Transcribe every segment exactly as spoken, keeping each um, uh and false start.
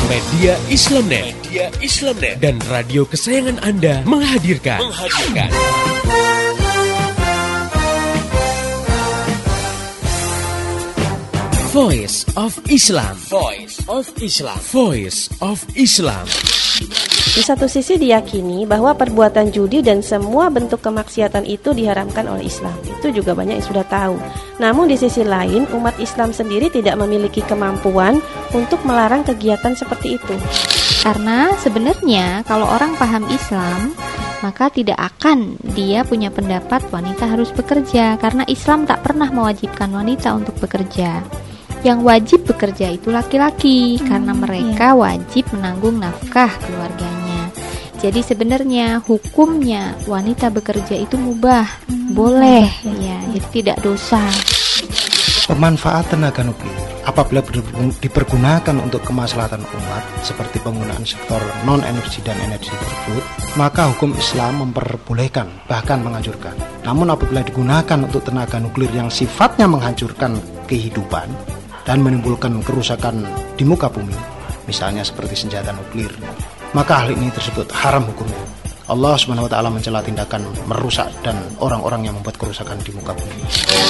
Media Islamnet, Media Islamnet dan radio kesayangan Anda menghadirkan, menghadirkan. Voice of Islam, Voice of Islam, Voice of Islam. Di satu sisi diyakini bahwa perbuatan judi dan semua bentuk kemaksiatan itu diharamkan oleh Islam. Itu juga banyak yang sudah tahu. Namun di sisi lain, umat Islam sendiri tidak memiliki kemampuan untuk melarang kegiatan seperti itu. Karena sebenarnya kalau orang paham Islam, maka tidak akan dia punya pendapat wanita harus bekerja. Karena Islam tak pernah mewajibkan wanita untuk bekerja. Yang wajib bekerja itu laki-laki, hmm, karena mereka iya. wajib menanggung nafkah keluarganya. Jadi sebenarnya hukumnya wanita bekerja itu mubah, hmm, boleh, ya, jadi tidak dosa. Pemanfaatan tenaga nuklir apabila dipergunakan untuk kemaslahatan umat seperti penggunaan sektor non-energi dan energi tersebut, maka hukum Islam memperbolehkan, bahkan menganjurkan. Namun apabila digunakan untuk tenaga nuklir yang sifatnya menghancurkan kehidupan dan menimbulkan kerusakan di muka bumi, misalnya seperti senjata nuklir, maka hal ini tersebut haram hukumnya. Allah subhanahu wa taala mencela tindakan merusak dan orang-orang yang membuat kerusakan di muka bumi.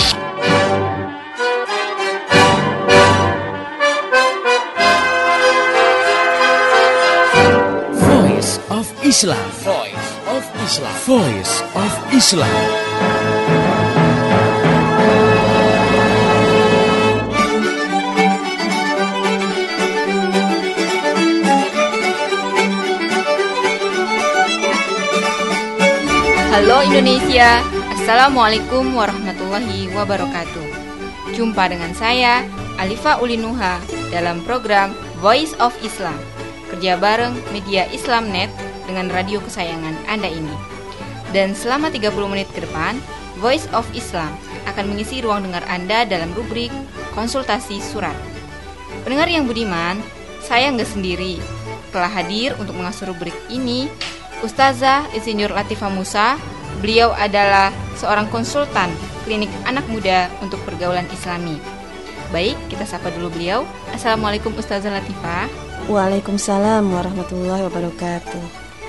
Voice of Islam, Voice of Islam, Voice of Islam. Halo Indonesia, Assalamualaikum warahmatullahi wabarakatuh. Jumpa dengan saya, Alifa Ulinuha, dalam program Voice of Islam. Kerja bareng Media Islamnet dengan radio kesayangan Anda ini. Dan selama tiga puluh menit ke depan, Voice of Islam akan mengisi ruang dengar Anda dalam rubrik konsultasi surat. Pendengar yang budiman, saya nggak sendiri. Telah hadir untuk mengasuh rubrik ini Ustazah Insinyur Latifah Musa. Beliau adalah seorang konsultan klinik anak muda untuk pergaulan Islami. Baik, kita sapa dulu beliau. Assalamualaikum Ustazah Latifah. Waalaikumsalam warahmatullahi wabarakatuh.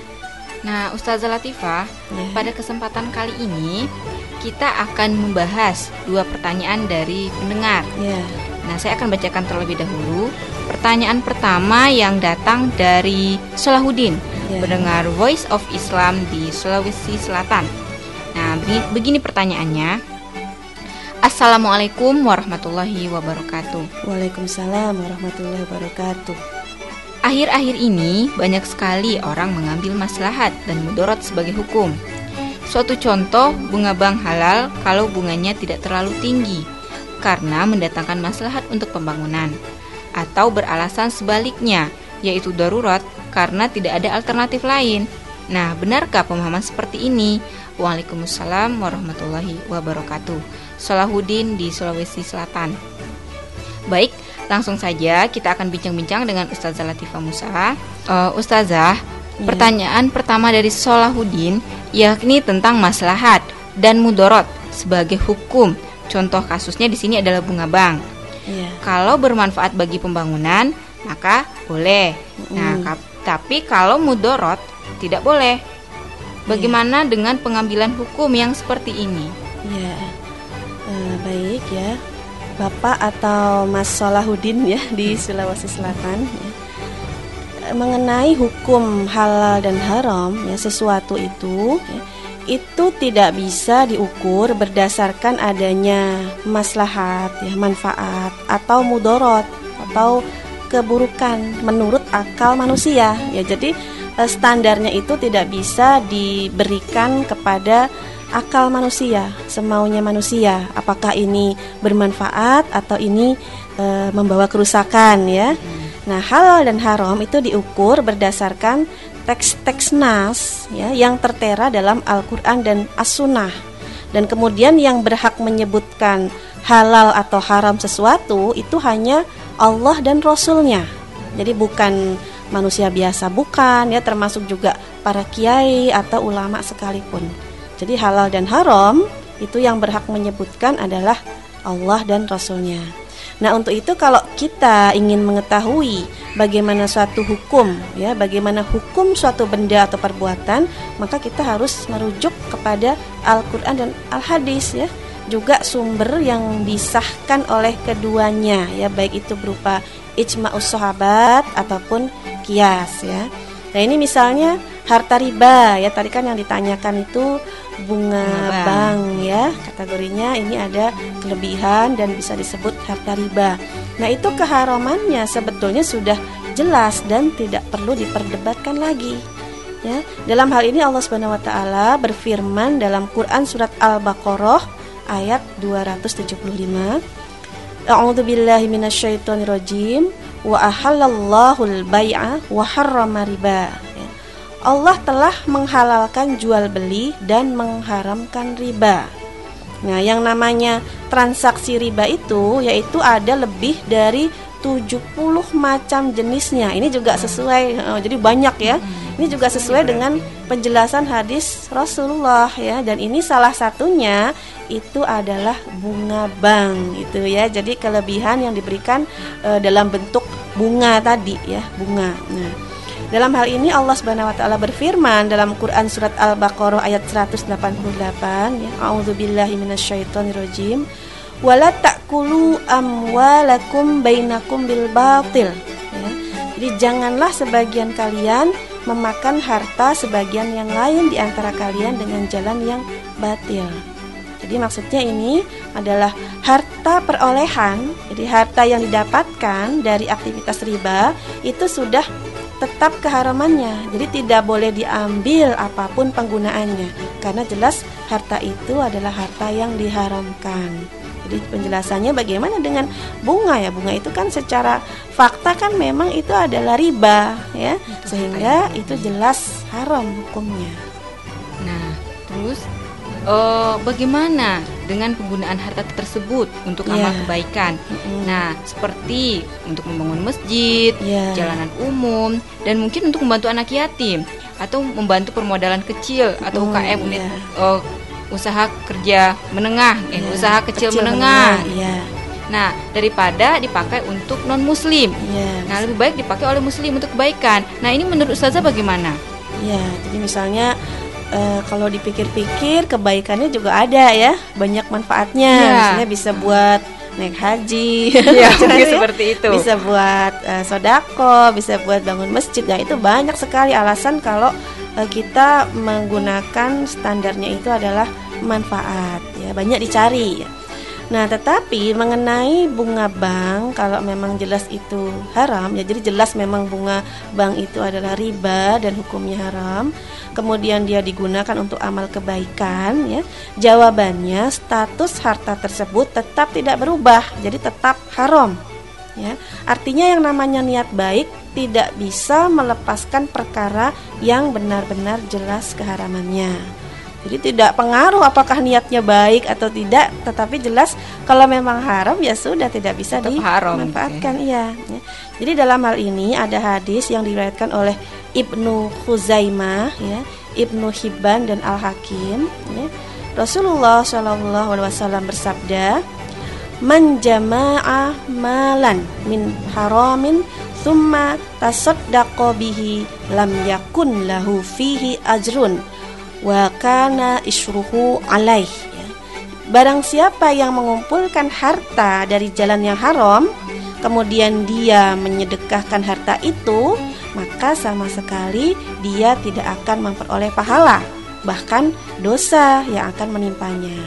Nah, Ustazah Latifah, ya. Pada kesempatan kali ini kita akan membahas dua pertanyaan dari pendengar. Ya. Nah, saya akan bacakan terlebih dahulu. Pertanyaan pertama yang datang dari Salahuddin, ya. Pendengar Voice of Islam di Sulawesi Selatan. Nah, begini, begini pertanyaannya. Assalamualaikum warahmatullahi wabarakatuh. Waalaikumsalam warahmatullahi wabarakatuh. Akhir-akhir ini banyak sekali orang mengambil maslahat dan mudarat sebagai hukum. Suatu contoh, bunga bank halal kalau bunganya tidak terlalu tinggi karena mendatangkan maslahat untuk pembangunan, atau beralasan sebaliknya, yaitu darurat karena tidak ada alternatif lain. Nah, benarkah pemahaman seperti ini? Waalaikumsalam warahmatullahi wabarakatuh. Salahuddin di Sulawesi Selatan. Baik, langsung saja kita akan bincang-bincang dengan Ustazah Latifah Musa. uh, Ustazah, ya. Pertanyaan pertama dari Salahuddin yakni tentang maslahat dan mudarat sebagai hukum. Contoh kasusnya di sini adalah bunga bank. Ya. Kalau bermanfaat bagi pembangunan, maka boleh. Mm. Nah, kap- tapi kalau mudarat tidak boleh. Bagaimana ya. dengan pengambilan hukum yang seperti ini? Ya, uh, baik ya, Bapak atau Mas Salahuddin ya di Sulawesi Selatan. Ya. Mengenai hukum halal dan haram, ya sesuatu itu. Ya, itu tidak bisa diukur berdasarkan adanya maslahat, ya, manfaat atau mudarat atau keburukan menurut akal manusia. Ya, jadi standarnya itu tidak bisa diberikan kepada akal manusia, semaunya manusia. Apakah ini bermanfaat atau ini e, membawa kerusakan, ya. Nah, halal dan haram itu diukur berdasarkan teks-teks nas, ya, yang tertera dalam Al-Quran dan As-Sunnah. Dan kemudian yang berhak menyebutkan halal atau haram sesuatu itu hanya Allah dan Rasulnya. Jadi bukan manusia biasa, bukan, ya, termasuk juga para kiai atau ulama sekalipun. Jadi halal dan haram itu yang berhak menyebutkan adalah Allah dan Rasulnya. Nah, untuk itu kalau kita ingin mengetahui bagaimana suatu hukum, ya, bagaimana hukum suatu benda atau perbuatan, maka kita harus merujuk kepada Al-Qur'an dan Al-Hadis, ya. Juga sumber yang disahkan oleh keduanya, ya, baik itu berupa ijma'us sahabat ataupun qiyas, ya. Nah, ini misalnya harta riba, ya, tadi kan yang ditanyakan itu bunga Bunga bank, ya, kategorinya ini ada kelebihan dan bisa disebut harta riba. Nah, itu keharamannya sebetulnya sudah jelas dan tidak perlu diperdebatkan lagi, ya. Dalam hal ini Allah Subhanahu wa taala berfirman dalam Quran surat Al-Baqarah ayat dua ratus tujuh puluh lima, A'udzubillahi minasyaitonirrajim, wa ahallallahu al-bai'a wa harrama riba. Allah telah menghalalkan jual beli dan mengharamkan riba. Nah, yang namanya transaksi riba itu yaitu ada lebih dari tujuh puluh macam jenisnya. Ini juga sesuai, oh, jadi banyak, ya. Ini juga sesuai dengan penjelasan hadis Rasulullah, ya. Dan ini salah satunya itu adalah bunga bank, gitu, ya. Jadi kelebihan yang diberikan e, dalam bentuk bunga tadi, ya, bunga. Nah, dalam hal ini Allah Subhanahu wa taala berfirman dalam Quran surat Al-Baqarah ayat seratus delapan puluh delapan, ya, A'udzubillahi minasyaitonirrajim, wala ta'kulu amwalakum bainakum bil batil, ya. Jadi janganlah sebagian kalian memakan harta sebagian yang lain di antara kalian dengan jalan yang batil. Jadi maksudnya ini adalah harta perolehan, jadi harta yang didapatkan dari aktivitas riba itu sudah tetap keharamannya. Jadi tidak boleh diambil apapun penggunaannya, karena jelas harta itu adalah harta yang diharamkan. Jadi penjelasannya bagaimana dengan bunga, ya. Bunga itu kan secara fakta kan memang itu adalah riba, ya. Sehingga itu jelas haram hukumnya. Nah, terus Uh, bagaimana dengan penggunaan harta tersebut untuk yeah. amal kebaikan? Mm-hmm. Nah, seperti untuk membangun masjid, yeah. jalanan umum, dan mungkin untuk membantu anak yatim atau membantu permodalan kecil atau mm, U K M, unit yeah. uh, usaha kerja menengah, eh yeah. usaha kecil, kecil menengah. menengah yeah. Nah, daripada dipakai untuk non muslim. Yeah. Nah, lebih baik dipakai oleh muslim untuk kebaikan. Nah, ini menurut Ustazah bagaimana? Ya, yeah. jadi misalnya Uh, kalau dipikir-pikir kebaikannya juga ada, ya, banyak manfaatnya. Ya. Misalnya bisa buat naik haji, ya, ya, seperti itu. Bisa buat uh, sodako, bisa buat bangun masjid. Nah, itu banyak sekali alasan kalau uh, kita menggunakan standarnya itu adalah manfaat, ya, banyak dicari, ya. Nah, tetapi mengenai bunga bank, kalau memang jelas itu haram, ya, jadi jelas memang bunga bank itu adalah riba dan hukumnya haram. Kemudian dia digunakan untuk amal kebaikan, ya. Jawabannya status harta tersebut tetap tidak berubah, jadi tetap haram, ya. Artinya yang namanya niat baik tidak bisa melepaskan perkara yang benar-benar jelas keharamannya. Jadi tidak pengaruh apakah niatnya baik atau tidak, tetapi jelas kalau memang haram ya sudah tidak bisa tetap haram, dimanfaatkan, okay. Iya. Jadi dalam hal ini ada hadis yang diriwayatkan oleh Ibnu Khuzaimah, ya, Ibnu Hibban dan Al-Hakim, ya. Rasulullah shallallahu alaihi wasallam bersabda, "Man jama'a malan min haramin thumma tasaddaqa bihi lam yakun lahu fihi ajrun wa kana isyruhu alaih." Ya. Barang siapa yang mengumpulkan harta dari jalan yang haram, kemudian dia menyedekahkan harta itu, maka sama sekali dia tidak akan memperoleh pahala, bahkan dosa yang akan menimpanya.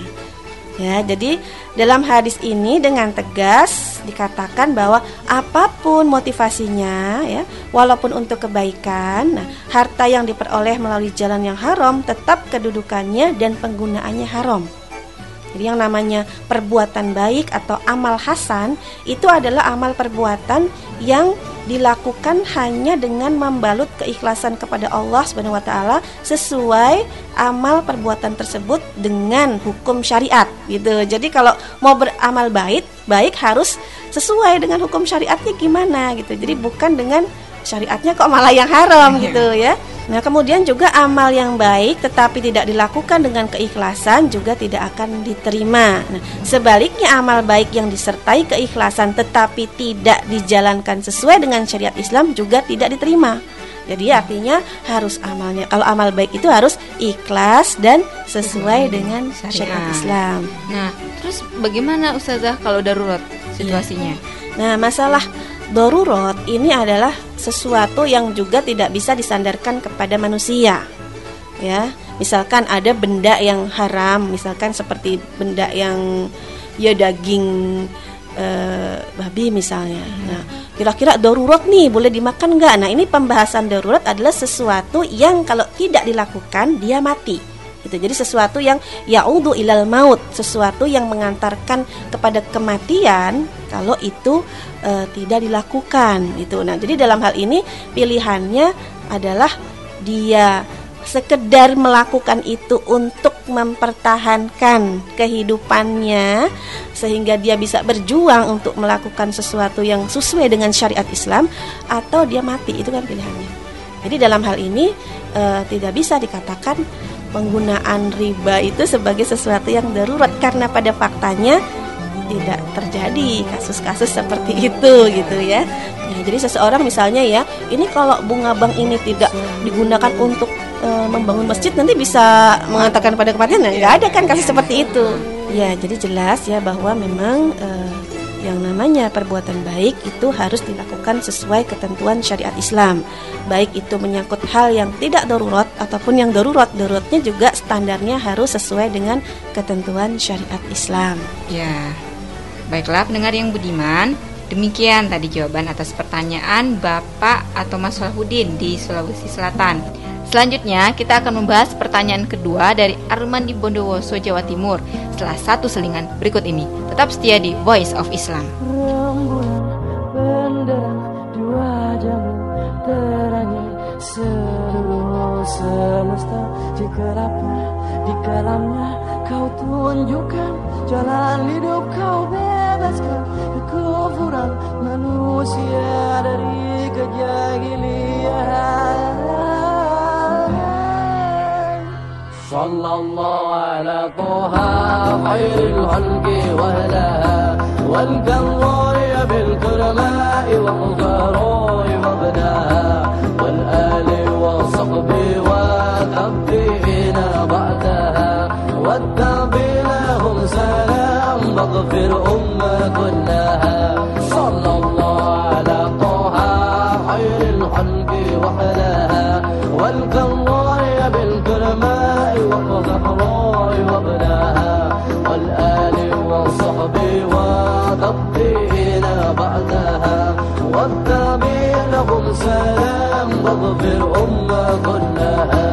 Ya, jadi dalam hadis ini dengan tegas dikatakan bahwa apapun motivasinya, ya, walaupun untuk kebaikan, nah, harta yang diperoleh melalui jalan yang haram tetap kedudukannya dan penggunaannya haram. Jadi yang namanya perbuatan baik atau amal hasan itu adalah amal perbuatan yang dilakukan hanya dengan membalut keikhlasan kepada Allah Subhanahu wa taala sesuai amal perbuatan tersebut dengan hukum syariat, gitu. Jadi kalau mau beramal baik, baik harus sesuai dengan hukum syariatnya gimana, gitu. Jadi bukan dengan syariatnya kok malah yang haram, gitu, ya. Nah, kemudian juga amal yang baik tetapi tidak dilakukan dengan keikhlasan juga tidak akan diterima. Nah, sebaliknya amal baik yang disertai keikhlasan tetapi tidak dijalankan sesuai dengan syariat Islam juga tidak diterima. Jadi artinya harus amalnya, kalau amal baik itu harus ikhlas dan sesuai dengan syariat Islam. Nah, terus bagaimana Ustazah kalau darurat situasinya? Nah, masalah darurat ini adalah sesuatu yang juga tidak bisa disandarkan kepada manusia. Ya, misalkan ada benda yang haram, misalkan seperti benda yang ya daging e, babi misalnya. Nah, kira-kira darurat nih boleh dimakan nggak? Nah, ini pembahasan darurat adalah sesuatu yang kalau tidak dilakukan dia mati. Itu jadi sesuatu yang ya'udhu ilal maut, sesuatu yang mengantarkan kepada kematian kalau itu e, tidak dilakukan itu. Nah, jadi dalam hal ini pilihannya adalah dia sekedar melakukan itu untuk mempertahankan kehidupannya sehingga dia bisa berjuang untuk melakukan sesuatu yang sesuai dengan syariat Islam, atau dia mati, itu kan pilihannya. Jadi dalam hal ini e, tidak bisa dikatakan penggunaan riba itu sebagai sesuatu yang darurat, karena pada faktanya tidak terjadi kasus-kasus seperti itu gitu ya. Ya, jadi seseorang misalnya ya, ini kalau bunga bank ini tidak digunakan untuk e, membangun masjid nanti bisa mengatakan pada kematian. Nah, nggak ada kan kasus seperti itu. Ya, jadi jelas ya bahwa memang e, yang namanya perbuatan baik itu harus dilakukan sesuai ketentuan syariat Islam. Baik itu menyangkut hal yang tidak darurat ataupun yang darurat. Daruratnya juga standarnya harus sesuai dengan ketentuan syariat Islam. Ya, baiklah pendengar yang budiman, demikian tadi jawaban atas pertanyaan Bapak atau Mas Salahuddin di Sulawesi Selatan. Selanjutnya kita akan membahas pertanyaan kedua dari Arman di Bondowoso, Jawa Timur, setelah satu selingan berikut ini. Tetap setia di Voice of Islam. Rembulan benderang di wajahmu terangi seluruh semesta. Di gelapnya, di kelamnya kau tunjukkan jalan hidup, kau bebaskan kekufuran manusia dari kejahilian. Sallallahu ala Toha khairil khalqi wa ahliha wal karri bil kurma'i wa mukarri wa banaha wal ali wa sahbi wa tabi'ina ba'daha wa tabi'ina hum salam baghfir umma kullaha. Sallallahu ala Toha khairil khalqi wa ahliha wal karri bil kurma'i وَالْغَفْرَارِ وَابْنَاهَا وَالْآلِ وَالصَّحْبِ وَتَبِّئِنَا بَعْدَهَا وَالتَّابِعِ لَهُمْ سَلَامٌ وَاغْفِرْ أُمَّ كُلَّهَا.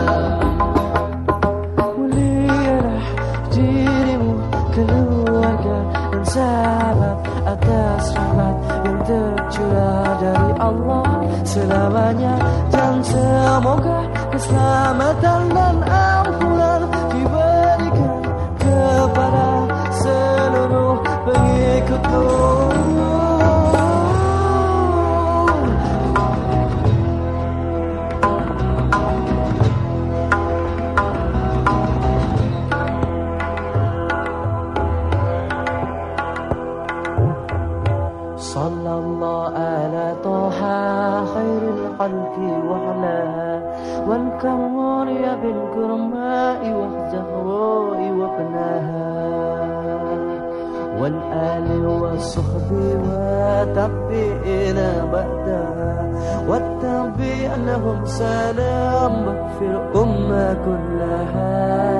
Mulialah dirimu, keluarga dan sahabat atas rahmat yang tercurah dari Allah selamanya, dan semoga keselamatan dan ampunan diberikan kepada seluruh pengikutmu. Sallallahu ala Toha khairil khalqi wa alaha wal kamari bil kurma'i wa zahra'i wa banaha wal ali wa sahbi wa tabi'ina ba'daha wat tabi'a lahum salam baghfir umma kullaha.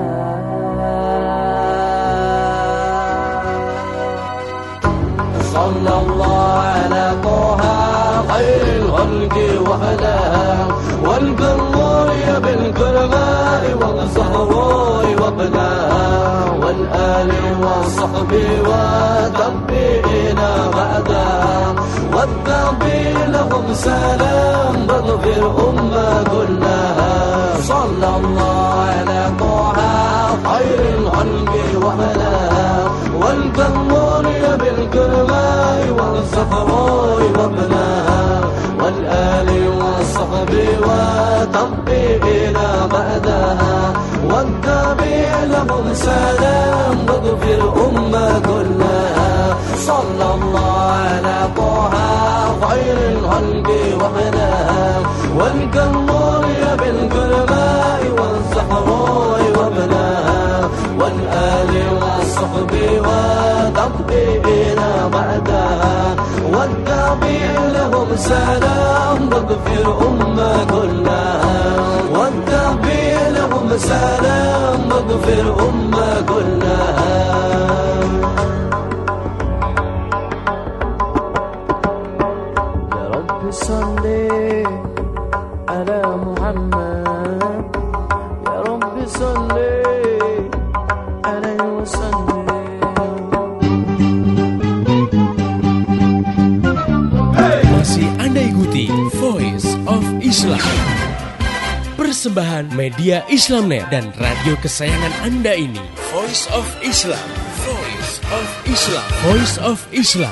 Sallallahu ala Toha khairil khalqi wa alaha wal karri bil kurma'i wa zahra'i wa banaha wal ali wa sahbi wa tabi'ina ba'daha wat tabi'ina lahum salam baghfir umma kullaha. Sallallahu ala Toha khairil khalqi wa alaha wal karri bil kurma'i wa zahra'i wa banaha wal ali wa sahbi wa tabi'ina بعدها والتابع لهم سلام واغفر أمة كلها صلى الله على طه خير الخلق وحدها والكمور بالكرماء والزهراء وابنها والآل والصحب وتطبيعنا بعدها والتابع لهم سلام واغفر أمة كلها والتابع لهم سلام واغفر أمة كلها يا رب صل على محمد يا رب صل عليه وسلم. Masih Anda ikuti Voice of Islam, persembahan media Islamnet dan radio kesayangan Anda ini. Voice of Islam, Voice of Islam, Voice of Islam.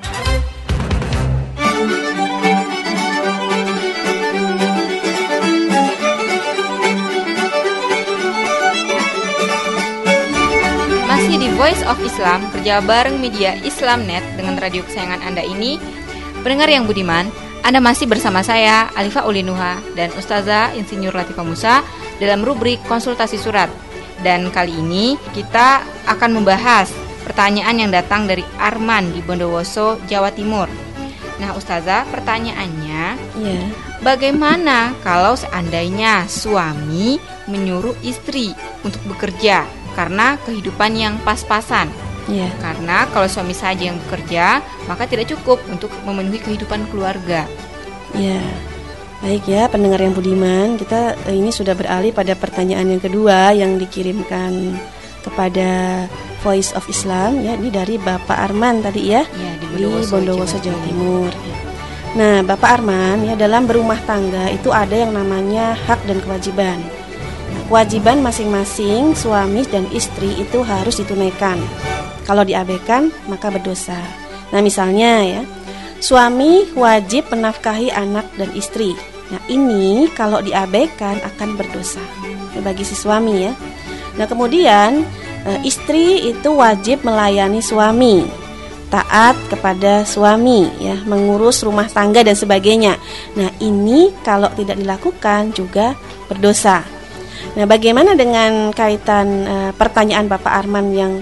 Masih di Voice of Islam, kerja bareng media Islamnet dengan radio kesayangan Anda ini. Pendengar yang budiman, Anda masih bersama saya, Alifa Ulinuha, dan Ustazah Insinyur Latifah Musa dalam rubrik konsultasi surat. Dan kali ini kita akan membahas pertanyaan yang datang dari Arman di Bondowoso, Jawa Timur. Nah Ustazah, pertanyaannya, Ya. bagaimana kalau seandainya suami menyuruh istri untuk bekerja karena kehidupan yang pas-pasan? Ya. Karena kalau suami saja yang bekerja, maka tidak cukup untuk memenuhi kehidupan keluarga. Ya, baik ya pendengar yang budiman, kita eh, ini sudah beralih pada pertanyaan yang kedua yang dikirimkan kepada Voice of Islam ya, ini dari Bapak Arman tadi ya, Ya, di di Bondowoso, Bondowoso Jawa Jawa Timur. Ya. Nah, Bapak Arman ya, dalam berumah tangga itu ada yang namanya hak dan kewajiban. Nah, kewajiban masing-masing suami dan istri itu harus ditunaikan. Kalau diabaikan maka berdosa. Nah misalnya ya, suami wajib menafkahi anak dan istri. Nah ini kalau diabaikan akan berdosa ya, bagi si suami ya. Nah kemudian e, istri itu wajib melayani suami, taat kepada suami ya, mengurus rumah tangga dan sebagainya. Nah ini kalau tidak dilakukan juga berdosa. Nah bagaimana dengan kaitan e, pertanyaan Bapak Arman yang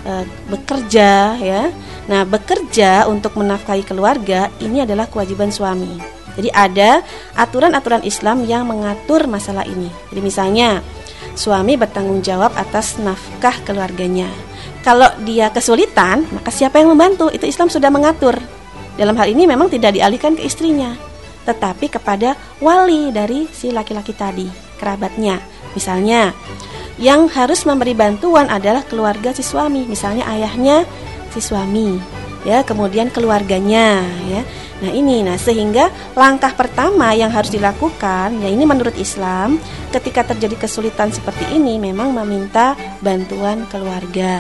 bekerja ya. Nah, bekerja untuk menafkahi keluarga ini adalah kewajiban suami. Jadi ada aturan-aturan Islam yang mengatur masalah ini. Jadi misalnya suami bertanggung jawab atas nafkah keluarganya. Kalau dia kesulitan, maka siapa yang membantu? Itu Islam sudah mengatur. Dalam hal ini memang tidak dialihkan ke istrinya, tetapi kepada wali dari si laki-laki tadi, kerabatnya. Misalnya yang harus memberi bantuan adalah keluarga si suami, misalnya ayahnya si suami, ya, kemudian keluarganya, ya. Nah ini, nah sehingga langkah pertama yang harus dilakukan, ya ini menurut Islam, ketika terjadi kesulitan seperti ini, memang meminta bantuan keluarga.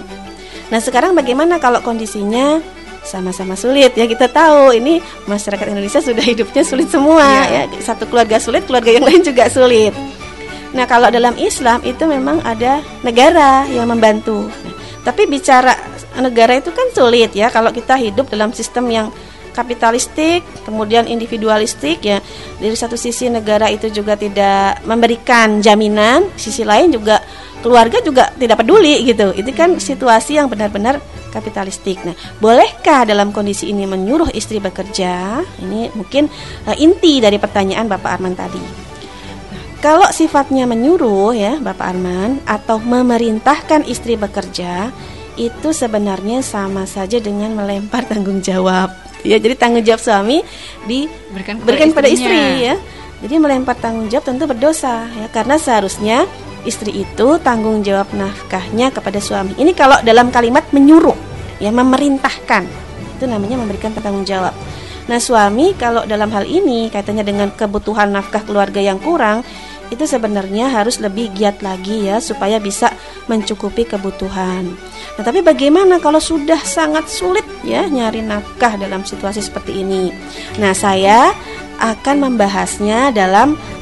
Nah sekarang bagaimana kalau kondisinya sama-sama sulit? Ya kita tahu ini masyarakat Indonesia sudah hidupnya sulit semua, ya, ya. Satu keluarga sulit, keluarga yang lain juga sulit. Nah kalau dalam Islam itu memang ada negara yang membantu. Nah, tapi bicara negara itu kan sulit ya kalau kita hidup dalam sistem yang kapitalistik, kemudian individualistik ya. Dari satu sisi negara itu juga tidak memberikan jaminan, sisi lain juga keluarga juga tidak peduli gitu. Itu kan situasi yang benar-benar kapitalistik. Nah, bolehkah dalam kondisi ini menyuruh istri bekerja? Ini mungkin uh, inti dari pertanyaan Bapak Arman tadi. Kalau sifatnya menyuruh ya Bapak Arman atau memerintahkan istri bekerja, itu sebenarnya sama saja dengan melempar tanggung jawab. Ya, jadi tanggung jawab suami diberikan kepada, pada istri ya. Jadi melempar tanggung jawab tentu berdosa ya, karena seharusnya istri itu tanggung jawab nafkahnya kepada suami. Ini kalau dalam kalimat menyuruh ya, memerintahkan. Itu namanya memberikan tanggung jawab. Nah, suami kalau dalam hal ini kaitannya dengan kebutuhan nafkah keluarga yang kurang, itu sebenarnya harus lebih giat lagi ya supaya bisa mencukupi kebutuhan. Nah, tapi bagaimana kalau sudah sangat sulit ya nyari nafkah dalam situasi seperti ini? Nah, saya akan membahasnya dalam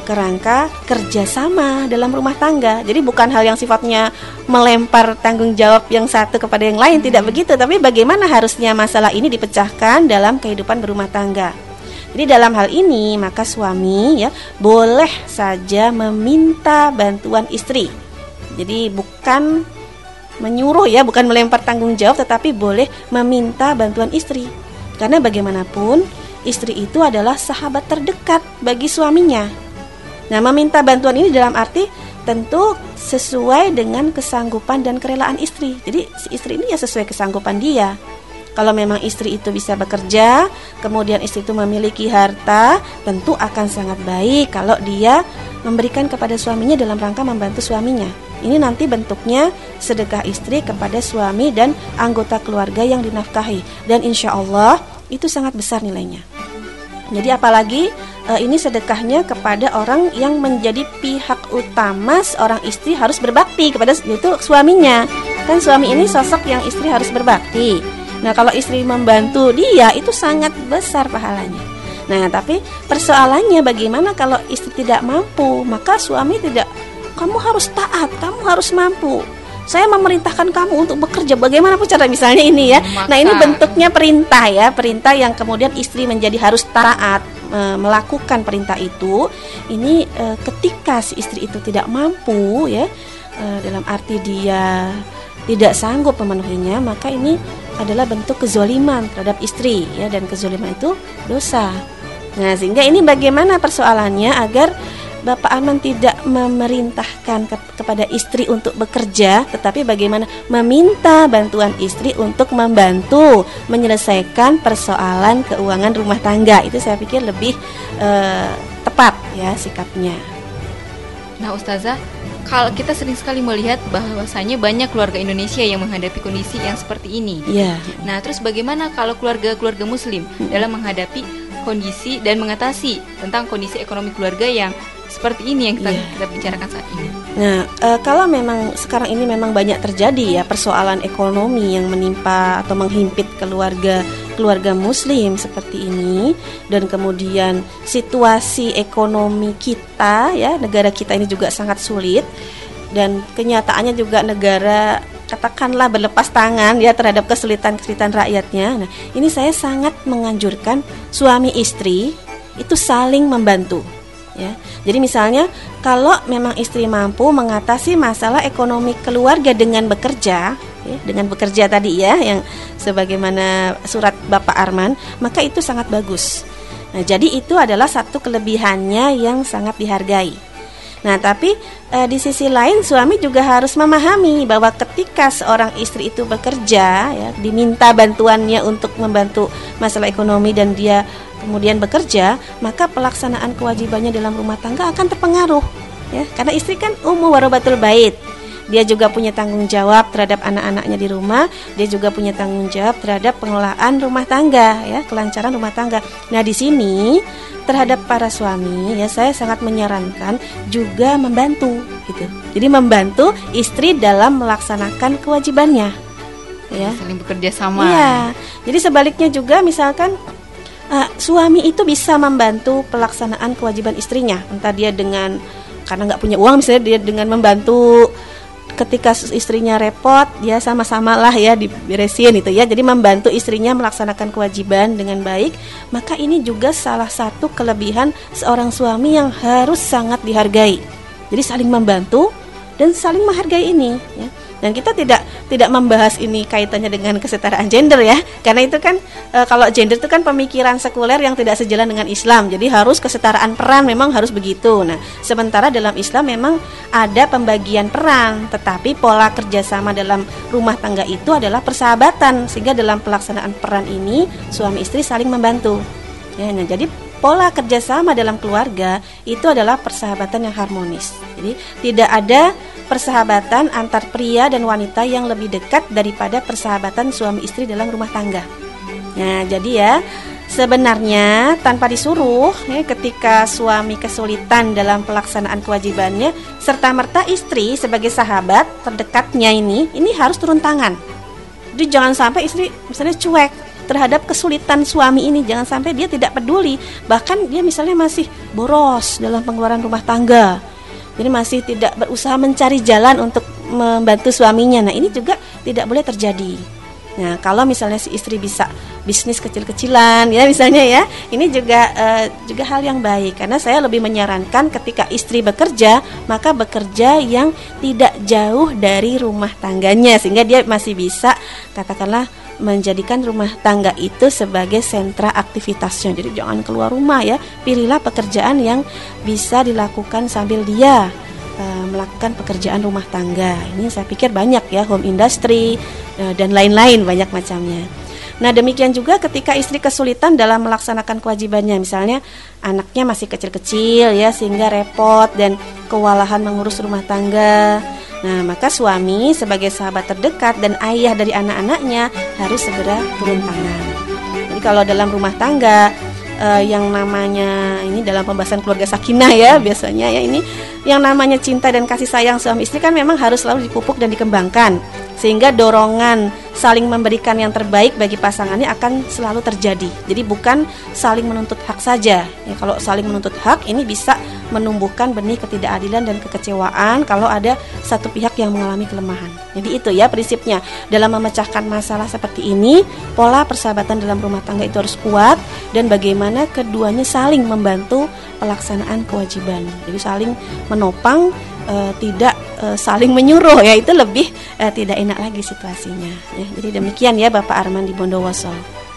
kerangka kerjasama dalam rumah tangga. Jadi bukan hal yang sifatnya melempar tanggung jawab yang satu kepada yang lain, tidak begitu. Tapi bagaimana harusnya masalah ini dipecahkan dalam kehidupan berumah tangga. Jadi dalam hal ini maka suami ya boleh saja meminta bantuan istri. Jadi bukan menyuruh ya, bukan melempar tanggung jawab, tetapi boleh meminta bantuan istri. Karena bagaimanapun istri itu adalah sahabat terdekat bagi suaminya. Nah, meminta bantuan ini dalam arti tentu sesuai dengan kesanggupan dan kerelaan istri. Jadi si istri ini ya sesuai kesanggupan dia. Kalau memang istri itu bisa bekerja, kemudian istri itu memiliki harta, tentu akan sangat baik kalau dia memberikan kepada suaminya dalam rangka membantu suaminya. Ini nanti bentuknya sedekah istri kepada suami dan anggota keluarga yang dinafkahi. Dan insya Allah itu sangat besar nilainya. Jadi apalagi e, ini sedekahnya kepada orang yang menjadi pihak utama seorang istri harus berbakti kepada, yaitu suaminya. Kan suami ini sosok yang istri harus berbakti. Nah, kalau istri membantu dia itu sangat besar pahalanya. Nah, tapi persoalannya bagaimana kalau istri tidak mampu? Maka suami tidak, kamu harus taat, kamu harus mampu. Saya memerintahkan kamu untuk bekerja. Bagaimana pun cara misalnya ini ya. Maka, nah, ini bentuknya perintah ya, perintah yang kemudian istri menjadi harus taat e, melakukan perintah itu. Ini e, ketika si istri itu tidak mampu ya, e, dalam arti dia tidak sanggup memenuhinya, maka ini adalah bentuk kezoliman terhadap istri ya, dan kezoliman itu dosa. Nah, sehingga ini bagaimana persoalannya agar Bapak Arman tidak memerintahkan ke, kepada istri untuk bekerja, tetapi bagaimana meminta bantuan istri untuk membantu menyelesaikan persoalan keuangan rumah tangga. Itu saya pikir lebih eh, tepat ya sikapnya. Nah, Ustazah, kalau kita sering sekali melihat bahwasanya banyak keluarga Indonesia yang menghadapi kondisi yang seperti ini. Yeah. Nah, terus bagaimana kalau keluarga-keluarga Muslim hmm. dalam menghadapi kondisi dan mengatasi tentang kondisi ekonomi keluarga yang seperti ini yang kita, yeah. kita bicarakan saat ini? Nah, e, kalau memang sekarang ini memang banyak terjadi ya persoalan ekonomi yang menimpa atau menghimpit keluarga keluarga Muslim seperti ini, dan kemudian situasi ekonomi kita ya, negara kita ini juga sangat sulit, dan kenyataannya juga negara katakanlah berlepas tangan ya terhadap kesulitan-kesulitan rakyatnya. Nah, ini saya sangat menganjurkan suami istri itu saling membantu. Ya. Jadi misalnya kalau memang istri mampu mengatasi masalah ekonomi keluarga dengan bekerja, ya, dengan bekerja tadi ya, yang sebagaimana surat Bapak Arman, maka itu sangat bagus. Nah, jadi itu adalah satu kelebihannya yang sangat dihargai. Nah, tapi e, di sisi lain suami juga harus memahami bahwa ketika seorang istri itu bekerja, ya, diminta bantuannya untuk membantu masalah ekonomi dan dia kemudian bekerja, maka pelaksanaan kewajibannya dalam rumah tangga akan terpengaruh ya, karena istri kan ummu warabatul bait. Dia juga punya tanggung jawab terhadap anak-anaknya di rumah, dia juga punya tanggung jawab terhadap pengelolaan rumah tangga ya, kelancaran rumah tangga. Nah, di sini terhadap para suami ya, saya sangat menyarankan juga membantu gitu. Jadi membantu istri dalam melaksanakan kewajibannya ya. Saling bekerja sama. Iya. Jadi sebaliknya juga misalkan Uh, suami itu bisa membantu pelaksanaan kewajiban istrinya, entah dia dengan karena nggak punya uang, misalnya dia dengan membantu ketika istrinya repot, dia sama-sama lah ya diberesin itu ya. Jadi membantu istrinya melaksanakan kewajiban dengan baik, maka ini juga salah satu kelebihan seorang suami yang harus sangat dihargai. Jadi saling membantu dan saling menghargai ini ya. Dan kita tidak tidak membahas ini kaitannya dengan kesetaraan gender ya, karena itu kan e, kalau gender itu kan pemikiran sekuler yang tidak sejalan dengan Islam. Jadi harus kesetaraan peran, memang harus begitu. Nah, sementara dalam Islam memang ada pembagian peran, tetapi pola kerjasama dalam rumah tangga itu adalah persahabatan, sehingga dalam pelaksanaan peran ini suami istri saling membantu. Ya, nah, jadi pola kerjasama dalam keluarga itu adalah persahabatan yang harmonis. Jadi tidak ada persahabatan antar pria dan wanita yang lebih dekat daripada persahabatan suami istri dalam rumah tangga. Nah, jadi ya sebenarnya tanpa disuruh ya, ketika suami kesulitan dalam pelaksanaan kewajibannya, serta merta istri sebagai sahabat terdekatnya ini ini harus turun tangan. Jadi jangan sampai istri misalnya cuek, terhadap kesulitan suami ini. Jangan sampai dia tidak peduli, bahkan dia misalnya masih boros dalam pengeluaran rumah tangga, jadi masih tidak berusaha mencari jalan untuk membantu suaminya. Nah, ini juga tidak boleh terjadi. Nah, kalau misalnya si istri bisa bisnis kecil-kecilan ya misalnya ya, ini juga uh, juga hal yang baik, karena saya lebih menyarankan ketika istri bekerja, maka bekerja yang tidak jauh dari rumah tangganya, sehingga dia masih bisa katakanlah menjadikan rumah tangga itu sebagai sentra aktivitasnya. Jadi jangan keluar rumah ya, pilihlah pekerjaan yang bisa dilakukan sambil dia melakukan pekerjaan rumah tangga. Ini saya pikir banyak ya, home industry dan lain-lain, banyak macamnya. Nah, demikian juga ketika istri kesulitan dalam melaksanakan kewajibannya, misalnya anaknya masih kecil-kecil ya, sehingga repot dan kewalahan mengurus rumah tangga. Nah, maka suami sebagai sahabat terdekat dan ayah dari anak-anaknya harus segera turun tangan. Jadi kalau dalam rumah tangga Uh, yang namanya ini dalam pembahasan keluarga sakinah ya biasanya ya, ini yang namanya cinta dan kasih sayang suami istri kan memang harus selalu dipupuk dan dikembangkan, sehingga dorongan saling memberikan yang terbaik bagi pasangannya akan selalu terjadi. Jadi bukan saling menuntut hak saja ya, kalau saling menuntut hak ini bisa menumbuhkan benih ketidakadilan dan kekecewaan kalau ada satu pihak yang mengalami kelemahan. Jadi itu ya prinsipnya, dalam memecahkan masalah seperti ini, pola persahabatan dalam rumah tangga itu harus kuat, dan bagaimana keduanya saling membantu pelaksanaan kewajiban. Jadi saling menopang, e, tidak e, saling menyuruh ya, itu lebih e, tidak enak lagi situasinya ya. Jadi demikian ya Bapak Arman di Bondowoso.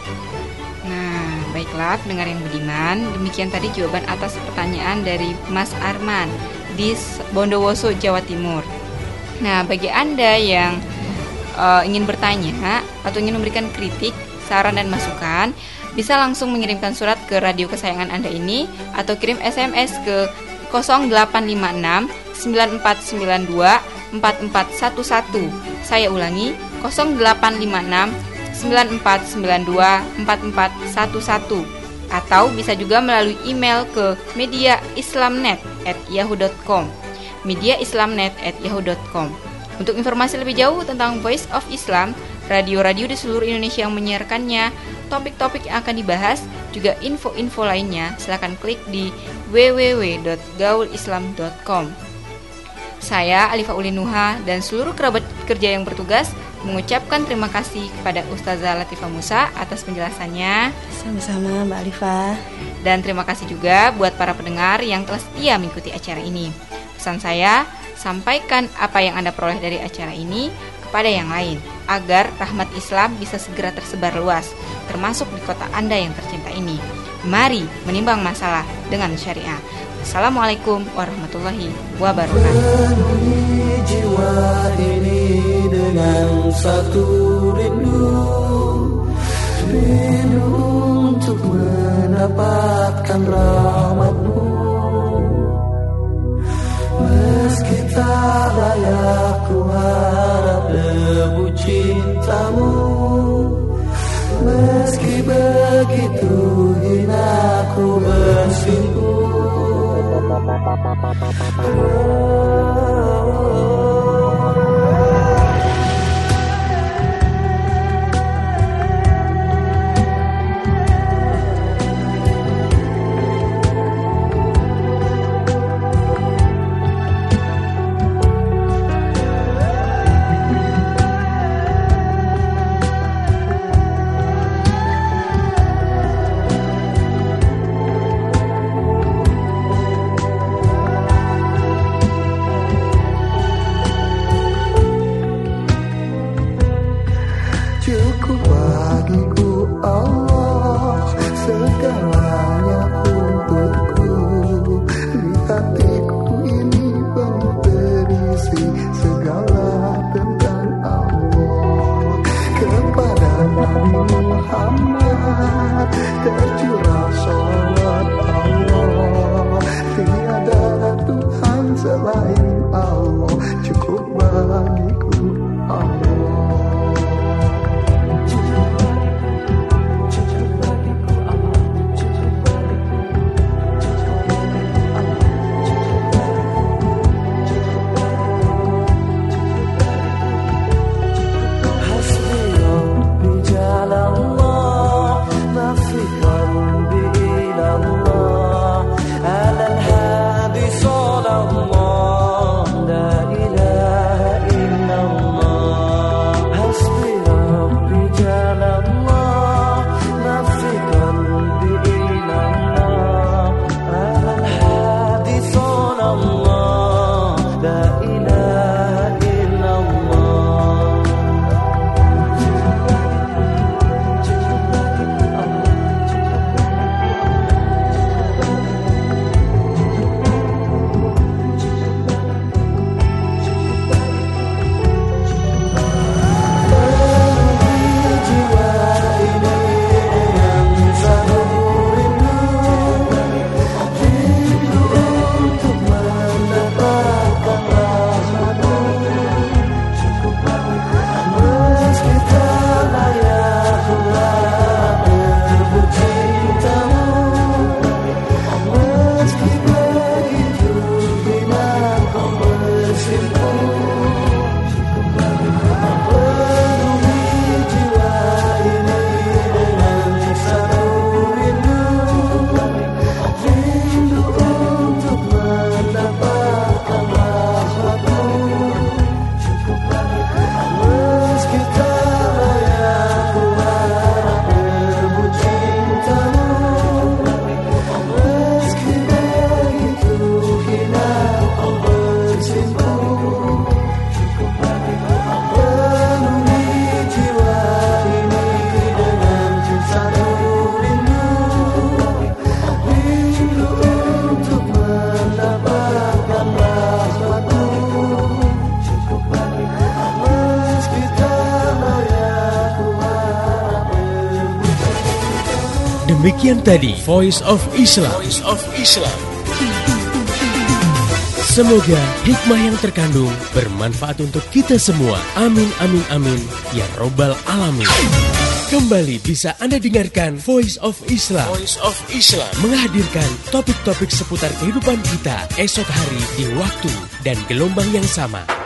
Nah, baiklah pendengar yang budiman, demikian tadi jawaban atas pertanyaan dari Mas Arman di Bondowoso, Jawa Timur. Nah, bagi Anda yang uh, ingin bertanya atau ingin memberikan kritik, saran dan masukan, bisa langsung mengirimkan surat ke radio kesayangan Anda ini, atau kirim S M S ke nol delapan lima enam sembilan empat sembilan dua empat empat satu satu. Saya ulangi, nol delapan lima enam sembilan empat sembilan dua empat empat satu satu. Atau bisa juga melalui email ke media islamnet at yahoo dot com. media islamnet at yahoo dot com. Untuk informasi lebih jauh tentang Voice of Islam, radio-radio di seluruh Indonesia yang menyiarkannya, topik-topik yang akan dibahas, juga info-info lainnya, silakan klik di w w w dot gaul islam dot com. Saya Alifa Ulinuha dan seluruh kerabat kerja yang bertugas mengucapkan terima kasih kepada Ustazah Latifah Musa atas penjelasannya. Sama-sama Mbak Alifa. Dan terima kasih juga buat para pendengar yang telah setia mengikuti acara ini. Pesan saya, sampaikan apa yang Anda peroleh dari acara ini kepada yang lain, agar rahmat Islam bisa segera tersebar luas, termasuk di kota Anda yang tercinta ini. Mari menimbang masalah dengan syariah. Assalamualaikum warahmatullahi wabarakatuh. Penuhi jiwa ini dengan satu rindu, rindu untuk mendapatkan rahmat-Mu. Meski tak layak ku harap debu cinta-Mu, meski begitu hina ku bersimpuh. Demikian tadi Voice of Islam. Voice of Islam. Semoga hikmah yang terkandung bermanfaat untuk kita semua. Amin, amin, amin. Ya Robbal Alamin. Kembali bisa Anda dengarkan Voice of Islam. Voice of Islam menghadirkan topik-topik seputar kehidupan kita esok hari di waktu dan gelombang yang sama.